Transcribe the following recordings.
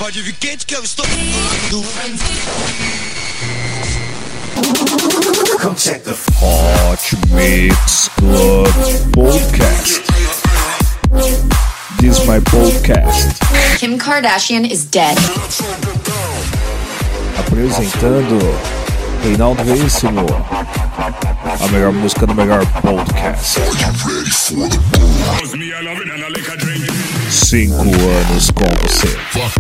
pode vir quente que eu estou. Come check the Hot Mix Club Podcast. This is my podcast. Kim Kardashian is dead. Apresentando Reinaldo Veríssimo, a melhor música do melhor podcast. 5 anos com você.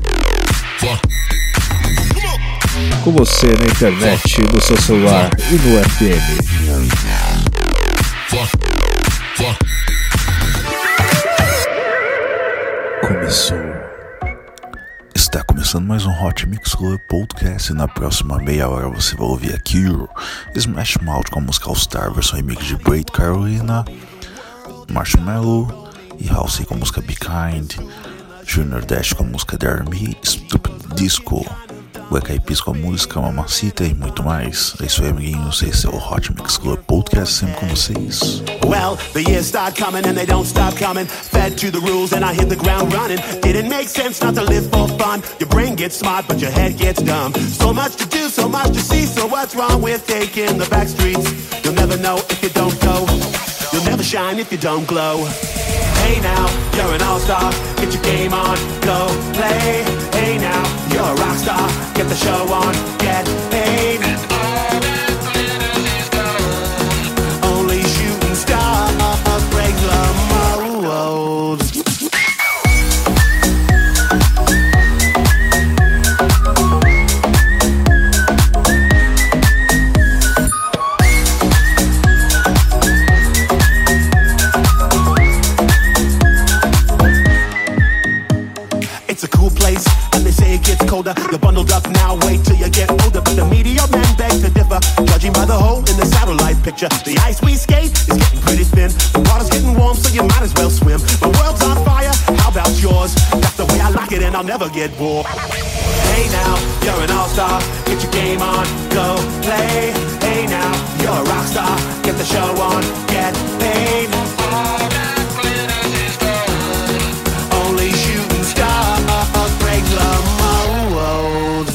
Com você na internet, no seu celular e no FM. Começou. Está começando mais um Hot Mix Club Podcast e na próxima meia hora você vai ouvir a Cure, Smash Mouth com a música All Star, versão remix de Braid Carolina, Marshmello e Halsey com a música Be Kind, Junior Dash com a música Dare Me, Stupid Disco, Black Eyed Peas com a música Mamacita e muito mais. É isso aí, amiguinhos, esse é o Hot Mix Club Podcast, sempre com vocês. Well, the years start coming and they don't stop coming. Fed to the rules and I hit the ground running. Didn't make sense not to live for fun. Your brain gets smart but your head gets dumb. So much to do, so much to see. So what's wrong with taking the back streets? You'll never know if you don't go. You'll never shine if you don't glow. Hey now, you're an all-star. Get your game on, go play. Hey now, you're a rock star. Get the show on, get paid. And all that glitters is gold. Only shooting stars break the mold. It's a cool place, and they say it gets colder. You're bundled up now, wait till you get older. But the media men beg to differ, judging by the hole in the satellite picture. The ice we skate is getting pretty thin. The water's getting warm, so you might as well swim. The world's on fire, how about yours? That's the way I like it, and I'll never get bored. Hey now, you're an all-star. Get your game on, go play. Hey now, you're a rock star. Get the show on, get paid. All that glitters is gold. Only shooting stars break the mold.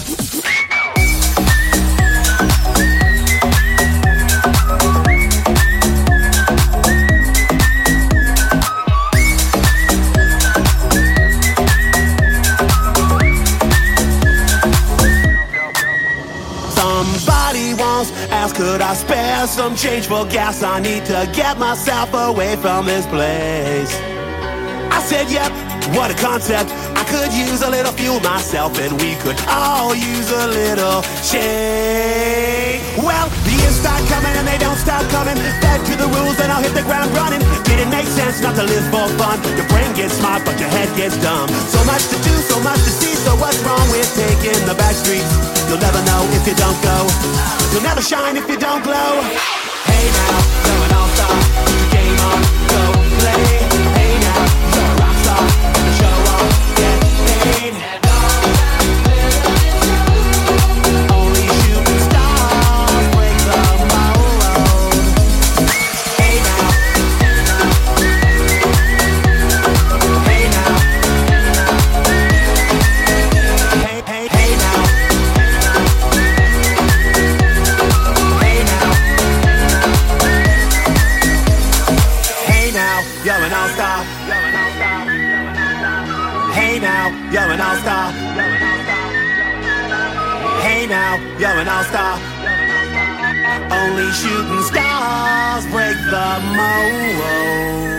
Somebody once asked, could I spare some change for gas? I need to get myself away from this place. I said, yep, what a concept. I could use a little fuel myself, and we could all use a little change. Well, the years start coming and they don't stop coming. Fed to the rules and I'll hit the ground running. Didn't make sense not to live for fun. Your brain gets smart but your head gets dumb. So much to do, so much to see. So what's wrong with taking the back streets? You'll never know if you don't go. You'll never shine if you don't glow. Hey now, you're an all-star. Put your game on, go play. Hey now, you're a rock star. Get the show on, get paid. Only shooting stars break the mold. Hey now. Hey now. Hey, hey, hey now. Hey now. Hey now, you're an all-star. Hey now, you're an all-star. Hey now, you're an all-star. Only shooting stars break the mold.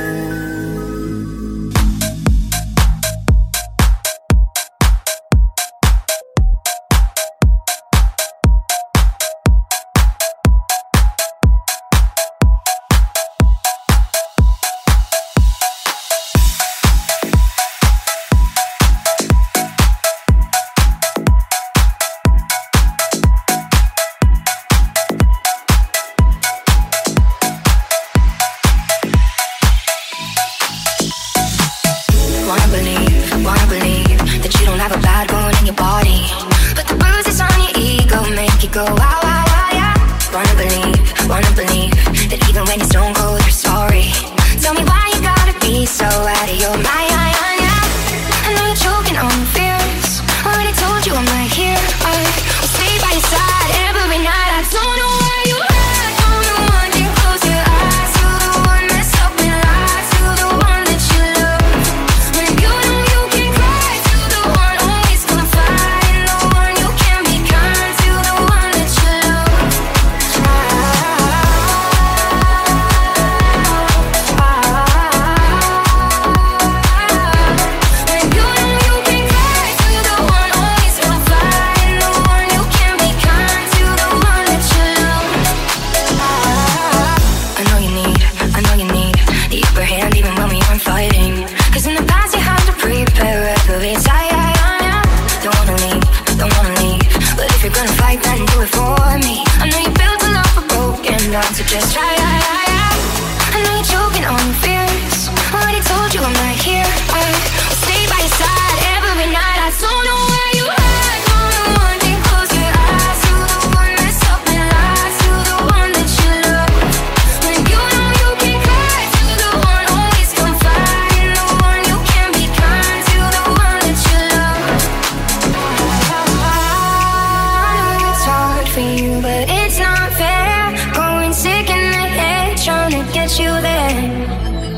go wow, wow, wow, yeah. Wanna believe that even when you're stone cold, you're sorry. Tell me why you gotta be so out of your mind, yeah. I know you're choking on fears, already not to just try. I know you're choking on your fears. Already told you I'm right here. I'll stay by your side every night. I don't know where you hide. One thing, close your eyes to the one that's up and lies, to the one that you love. When you know you can cry, to the one always confide in the one you can be kind, to the one that you love. I know it's hard for you, but it's not fair. Going sick in the head, trying to get you there.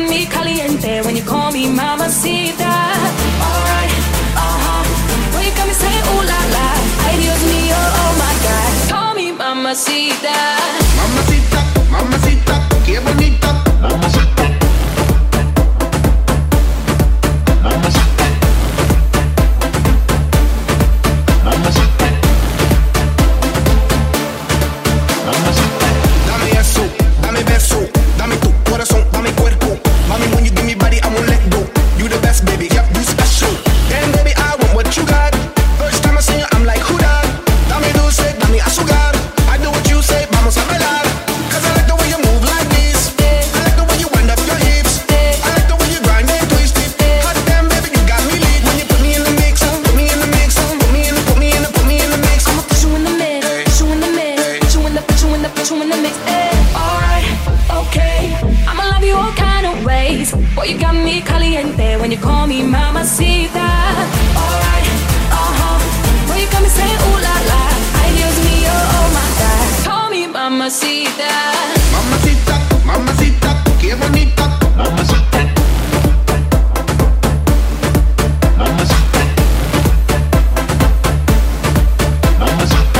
me caliente when you call me mamacita. Alright, when you got me saying ooh la la. Ay Dios mío, oh my God. Call me mamacita. Mamacita, mamacita, qué bonita. Mamacita. Mamacita. Mamacita. Mamacita. Dame eso, dame beso, dame tu corazón, dame cuerpo. Mami, when you give me body, I won't let go. You the best, baby, yep, you special. Damn, baby, I want what you got. First time I see you, I'm like, who that? Dame dulce, dame azúcar. I do what you say, vamos a bailar. Cause I like the way you move like this. I like the way you wind up your hips. I like the way you grind and twist it. Hot damn, baby, you got me lit. When you put me in the mix, put me in the mix, put me in the mix. I'ma put you in the mix, put you in the mix, put you in the mix. Alright, okay. I'ma love you all kind of ways. Boy, you got me caliente when you call me mamacita. Alright, boy, you got me saying ooh la la. Ay Dios mío, oh my God. Call me mamacita. Mamacita, mamacita, qué bonita. Mamacita. Mamacita. Mamacita.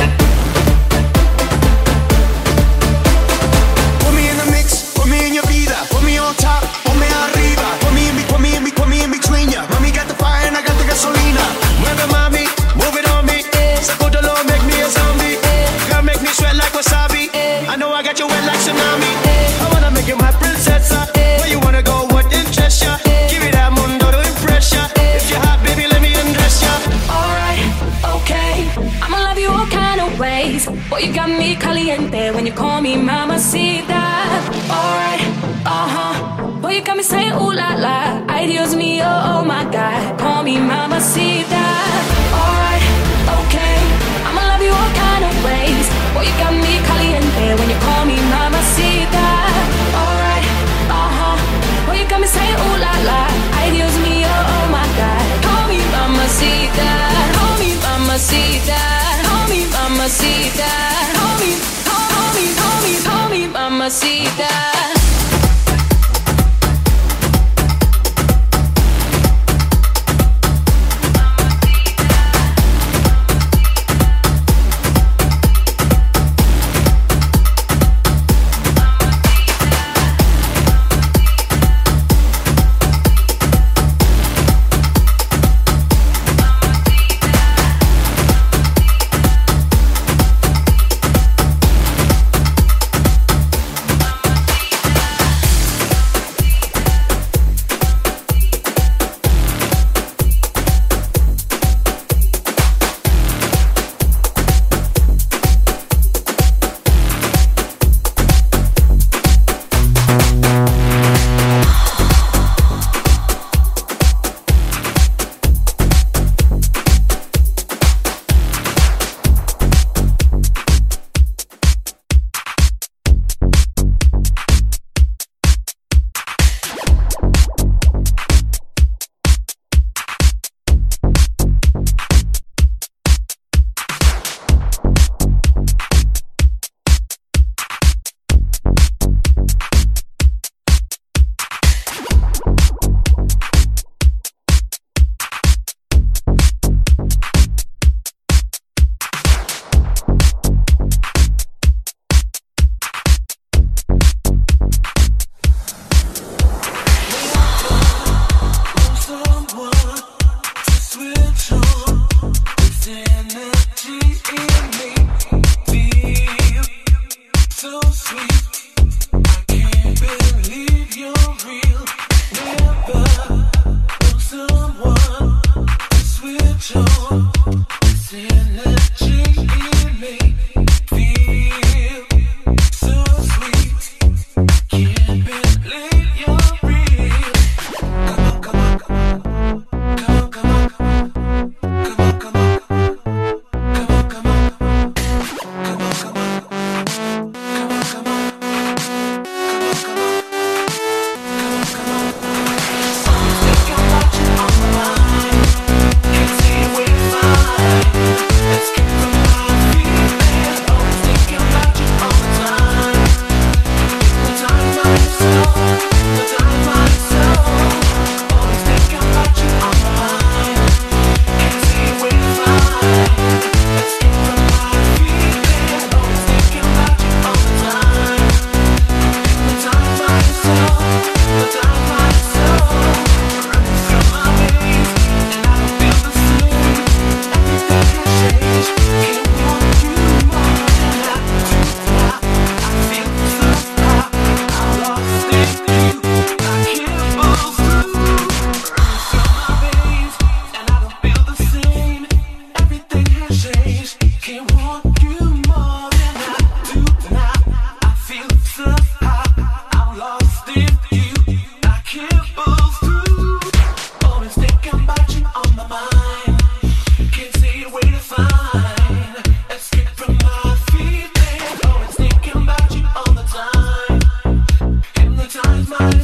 Put me in the mix, put me in your vida, put me on top, put me arriba, put me in between ya. Mami got the fire and I got the gasolina. Mueve mami, move it on me. Sacúdalo, make me a zombie. Girl, make me sweat like wasabi. I know I got you wet like tsunami. I wanna make you my princessa. Where you wanna go, what interests ya? Give me that mundo to impress ya. If you're hot, baby, let me undress ya. Alright, okay. I'ma love you all kind of ways. Boy, you got me caliente when you call me mamacita. Alright, boy, you got me saying ooh la la. Ay Dios mío, oh my God. Call me mamacita. Alright, okay. I'ma love you all kind of ways. Boy, you got me caliente when you call me mamacita. Alright, boy, you got me saying ooh la la. Ay Dios mío, oh my God. Call me mamacita. Call me mamacita. Call me mamacita. Call me mamacita.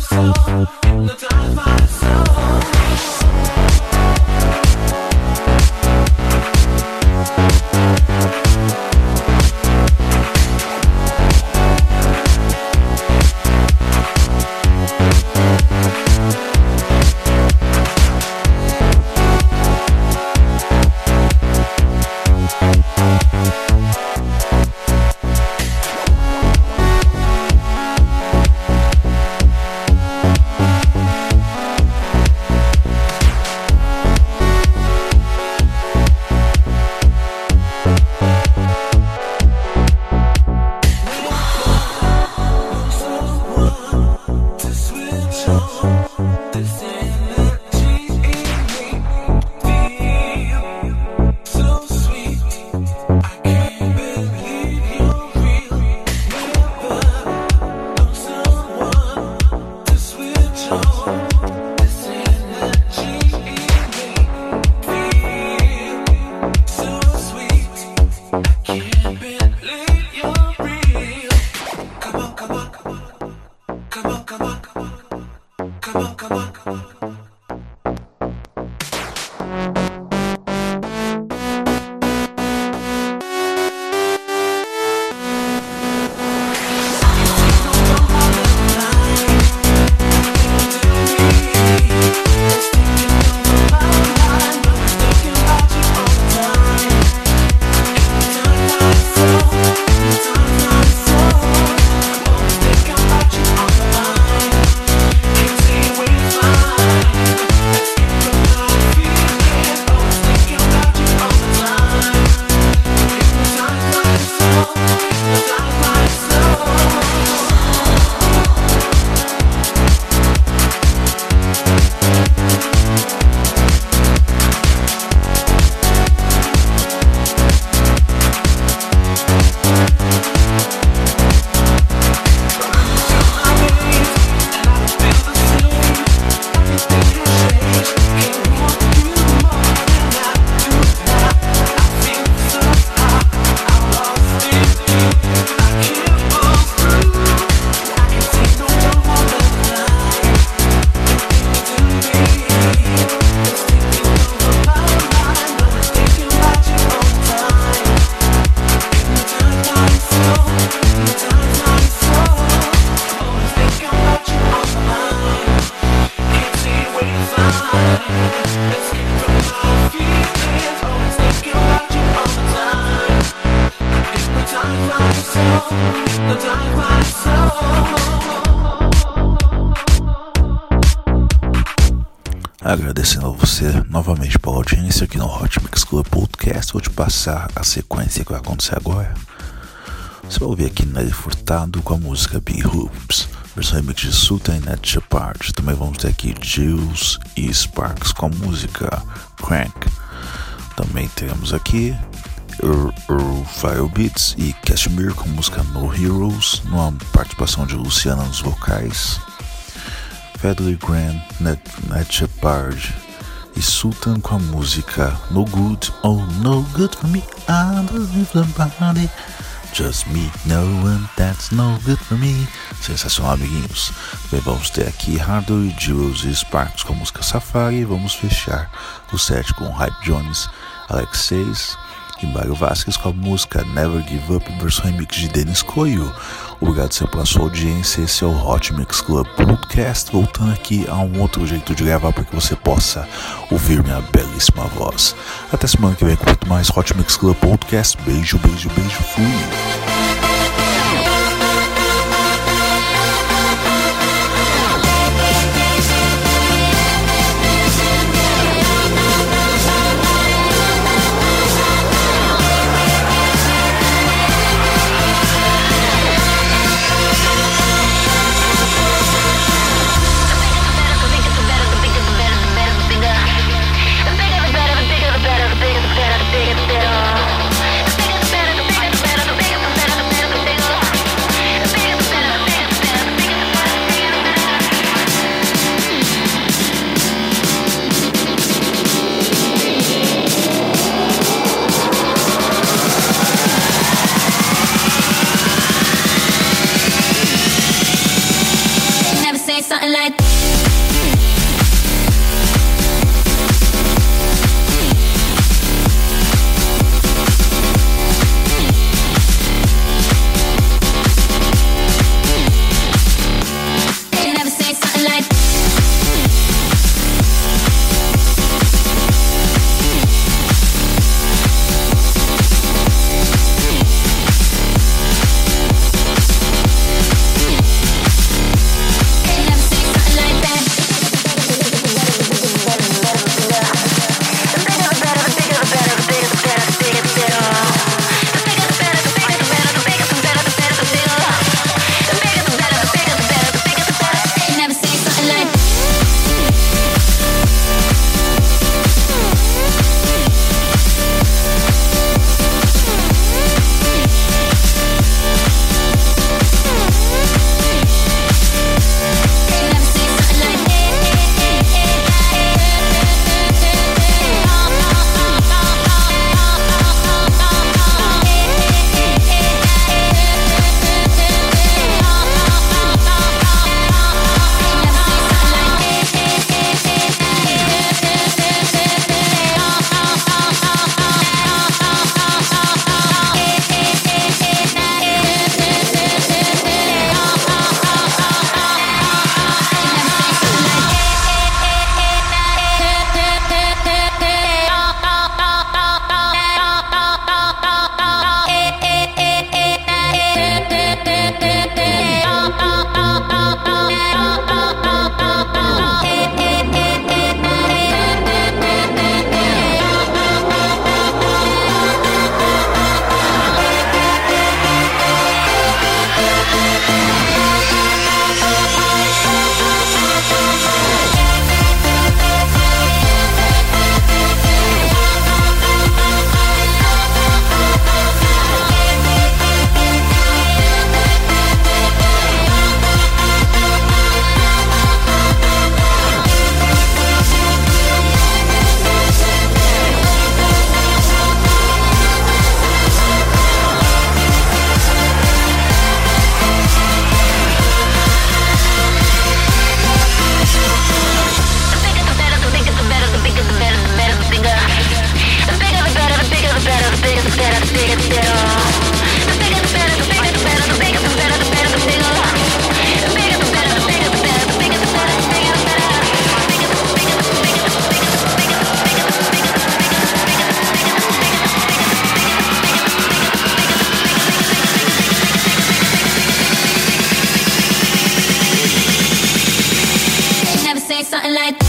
Agradecendo a você novamente pela audiência aqui no Hot Mix Club Podcast. Vou te passar a sequência que vai acontecer agora. Você vai ouvir aqui Nelly Furtado com a música Big Hoops, versão remix de Sultan e Ned Shepard. Também vamos ter aqui Jules e Sparks com a música Crank. Também teremos aqui Fire Beats e Cashmere com a música No Heroes, numa participação de Luciana nos vocais. Federer Grant, Ned Shepard e Sultan com a música No Good, Oh No Good For Me, I don't live the body, Just Me, No One That's No Good For Me. Sensacional, amiguinhos. Bem, vamos ter aqui Hardwell, Jules e Sparks com a música Safari. E vamos fechar o set com Hype Jones, Alexeis e Mário Vasquez com a música Never Give Up, versão remix de Denis Coelho. Obrigado sempre pela sua audiência. Esse é o Hot Mix Club Podcast, voltando aqui a um outro jeito de gravar para que você possa ouvir minha belíssima voz. Até semana que vem com muito mais Hot Mix Club Podcast. Beijo, beijo, beijo, fui! Better, light. You never say something like. Something like.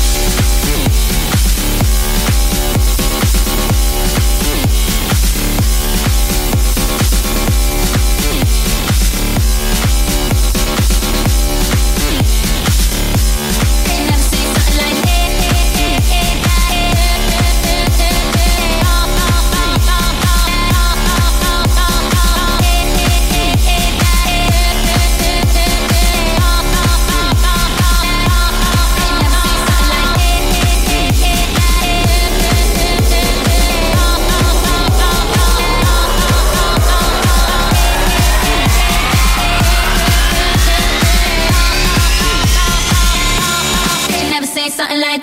Something like.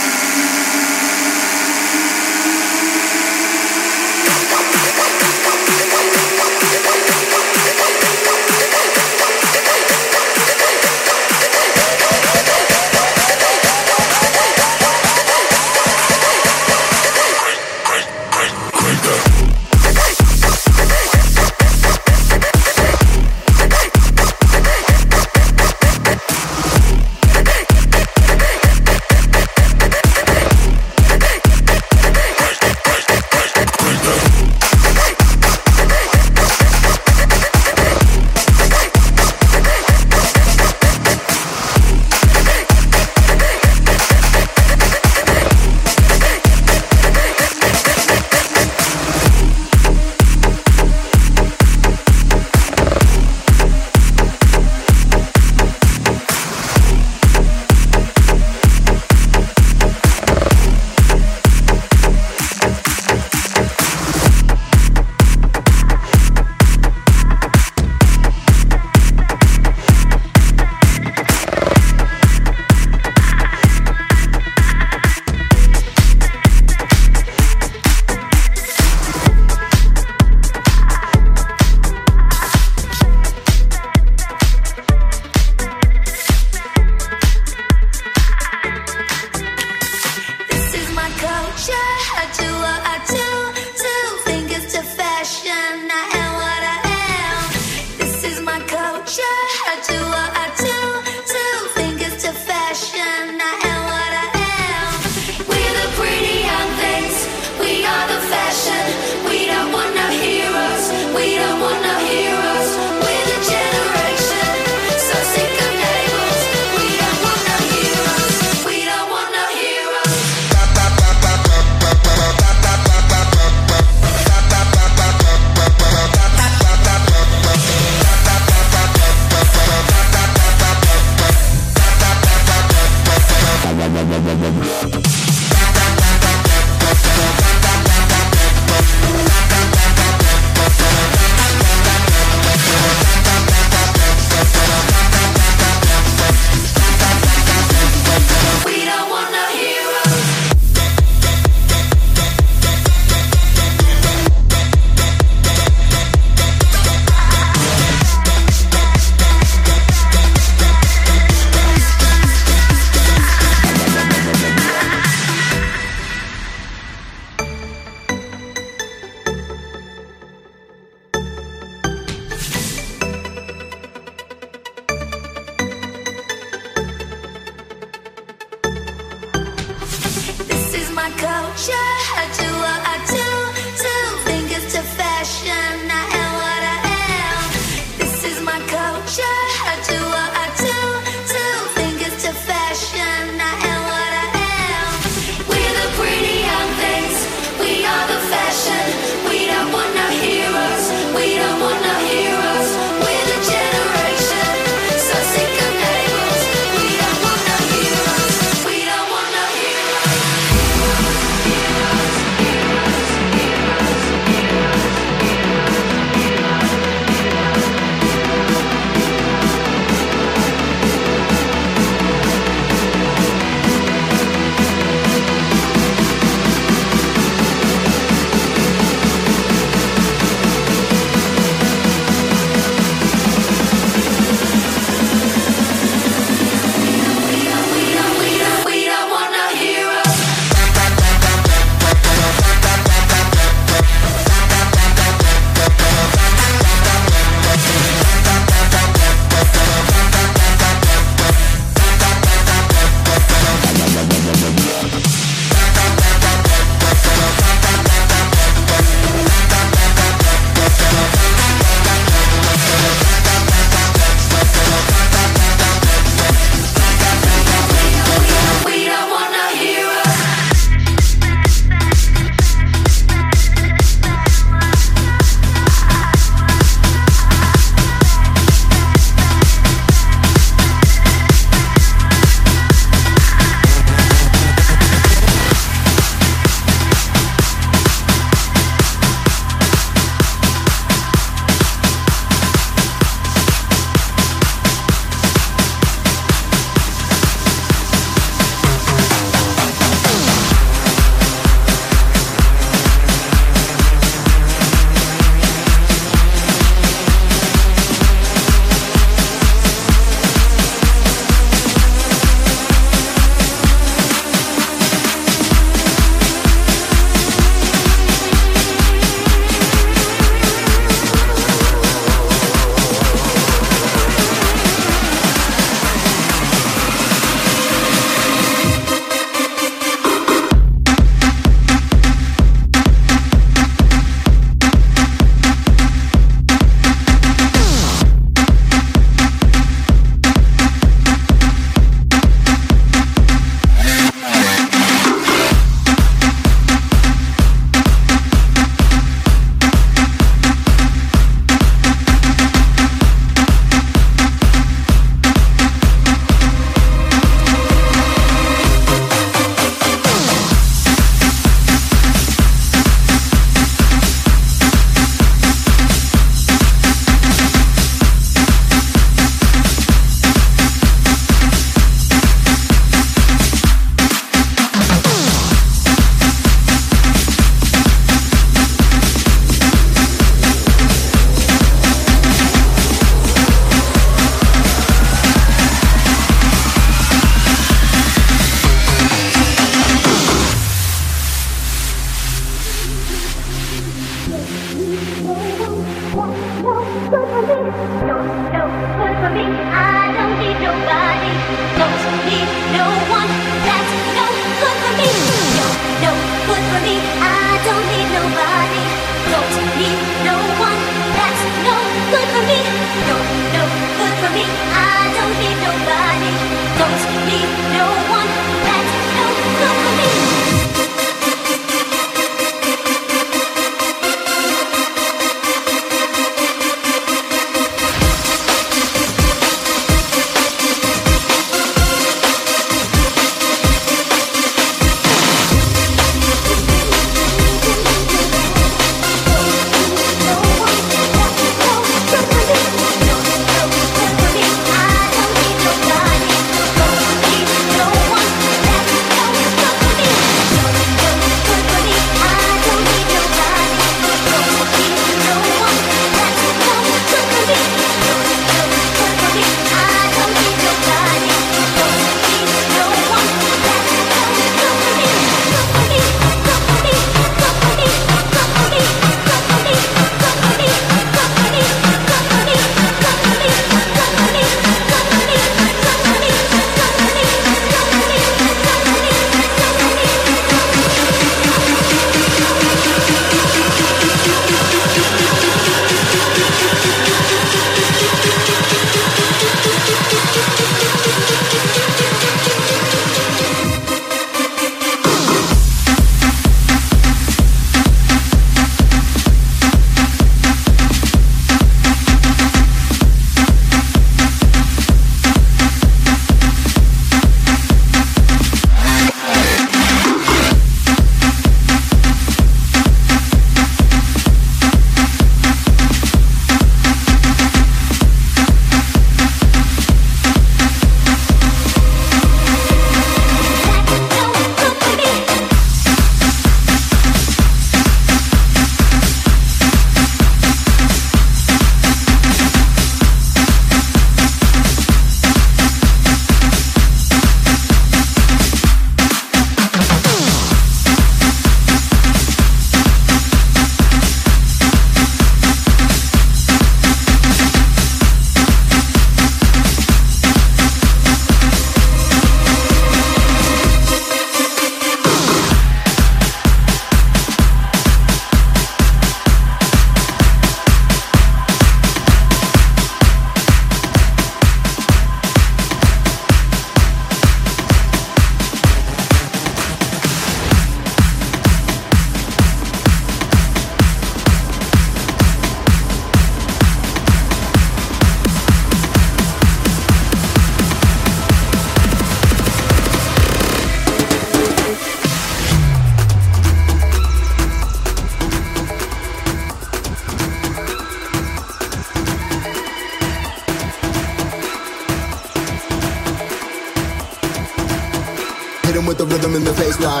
Hit him with the rhythm in the face line.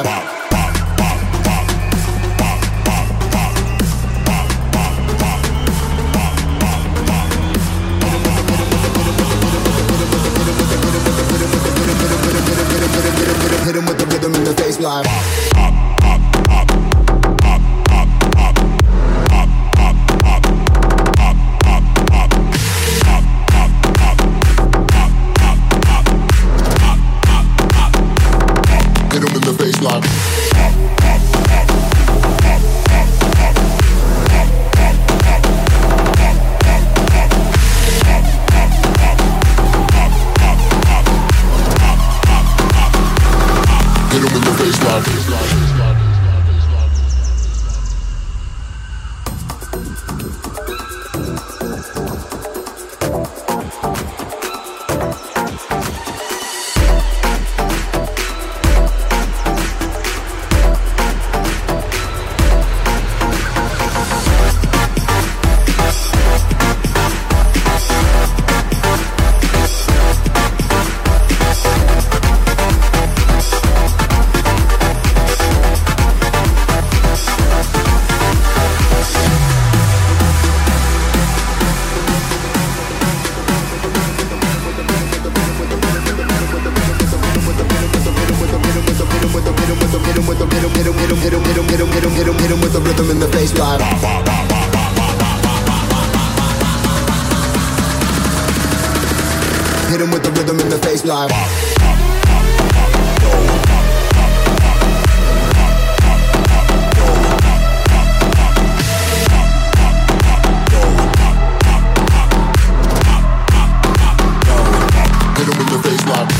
Hit him with the rhythm in the face line. Hit him in the face line. Hit him with the rhythm in the face like. Hit him with the face like.